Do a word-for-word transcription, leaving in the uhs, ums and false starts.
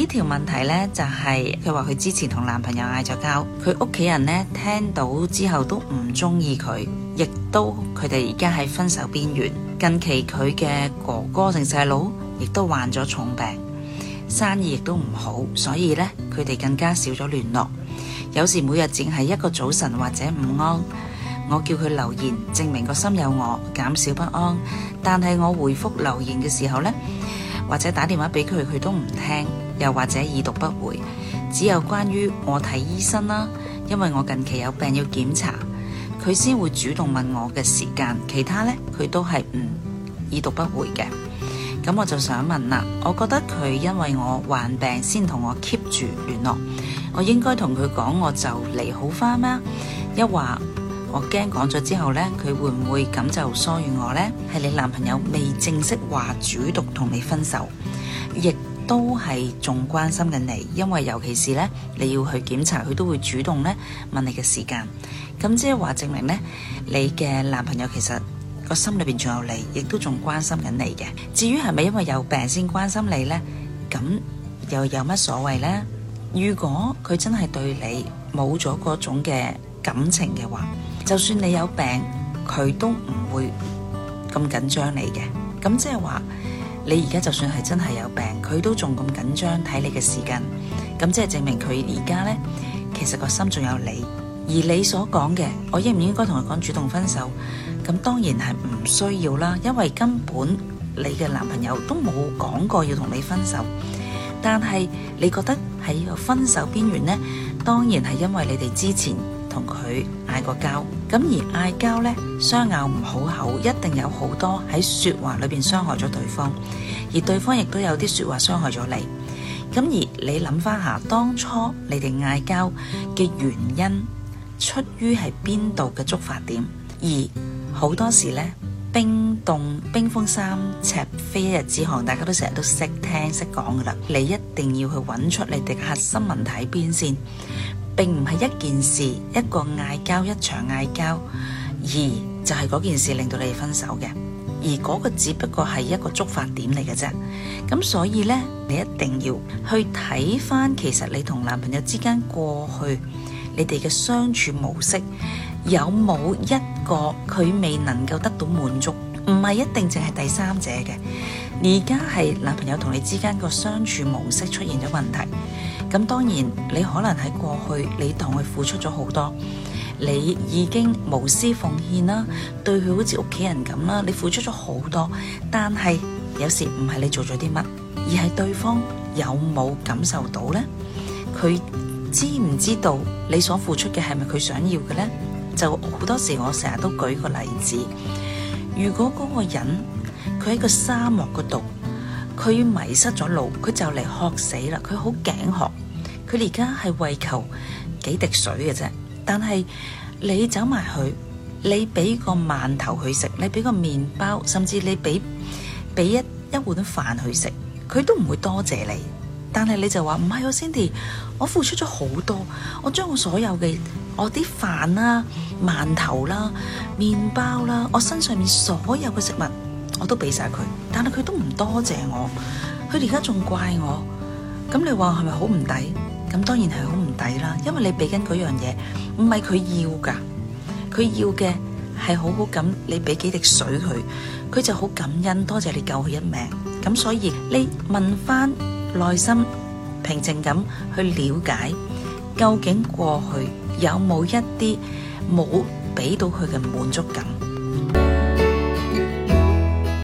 呢條問題呢，就係佢話佢之前同男朋友嗌咗交，佢屋企人呢聽到之後都唔中意佢，亦都佢哋而家喺分手邊緣。近期佢嘅哥哥定細佬亦都患咗重病，生意亦都唔好，所以呢，佢哋更加少咗聯絡。有時每日淨係一個早晨或者午安，我叫佢留言證明個心有我，減少不安。但係我回覆留言嘅時候呢，或者打電話俾佢，佢都唔聽，又或者已讀不回。只有關於我睇醫生啦，因為我近期有病要檢查，佢先會主動問我嘅時間，其他呢，佢都係唔已讀不回嘅。咁我就想問啦，我覺得佢因為我患病先同我 keep 住聯絡，我應該同佢講我就嚟好返嗎？一話我驚講咗之後呢，佢會唔會咁就疏遠我呢？係你男朋友未正式話主動同你分手，亦都係仲關心緊你，因為尤其是呢，你要去檢查，佢都會主動呢問你嘅時間。咁即係話證明呢，你嘅男朋友其實個心裏邊仲有你，亦都仲關心緊你嘅。至於係咪因為有病先關心你呢？咁又有乜所謂呢？如果佢真係對你冇咗嗰種嘅感情嘅話，就算你有病，佢都唔會咁緊張你嘅。咁即係話，你而家就算係真係有病，佢都仲咁緊張睇你嘅時間。咁即係證明佢而家呢，其實個心仲有你。而你所講嘅，我應唔應該同佢講主動分手？咁當然係唔需要啦，因為根本你嘅男朋友都冇講過要同你分手。但係你覺得喺個分手邊緣呢，當然係因為你哋之前同佢嗌過交。咁而嗌交呢，相拗唔好口，一定有好多喺說話裏邊傷害咗對方，而對方亦都有啲說話傷害咗你。咁而你諗翻下，當初你哋嗌交嘅原因，出於係邊度嘅觸發點？而好多時呢，冰凍冰封三尺非一日之寒，大家都成日都識聽識講噶啦。你一定要去揾出你哋嘅核心問題喺邊先，並唔係一件事一個嗌交一場嗌交，而就係嗰件事令到你哋分手嘅，而嗰個只不過係一個觸發點嚟嘅啫。咁所以呢，你一定要去睇翻，其實你同男朋友之間過去你哋嘅相處模式有冇一個佢未能夠得到滿足？唔係一定淨係第三者嘅。而家係男朋友同你之間個相處模式出現咗問題。咁當然你可能喺過去你同佢付出咗好多，你已經無私奉獻啦，對佢好似屋企人咁啦，你付出咗好多。但係有時唔係你做咗啲乜，而係對方有冇感受到呢？佢知唔知道你所付出嘅係咪佢想要嘅呢？就好多時我成日都舉個例子，如果嗰個人佢喺個沙漠嗰度，佢迷失咗路，佢就嚟渴死啦，佢好頸渴，佢而家係為求幾滴水嘅啫。但係你走埋去，你俾個饅頭佢食，你俾個麵包，甚至你俾俾一一碗飯佢食，佢都唔會多謝你。但係你就話唔係喎，Cindy，我付出咗好多，我將我所有嘅我啲飯啦、饅頭啦、麵包啦，我身上面所有嘅食物我都俾晒佢，但係佢都唔多謝我，佢而家仲怪我。咁你話係咪好唔抵？咁當然係好唔抵啦，因為你俾緊嗰樣嘢唔係佢要噶，佢要嘅係好好咁，你俾幾滴水佢，佢就好感恩，多謝你救佢一命。咁所以你問翻內心平靜咁去了解，究竟過去有冇一啲冇俾到佢嘅滿足感？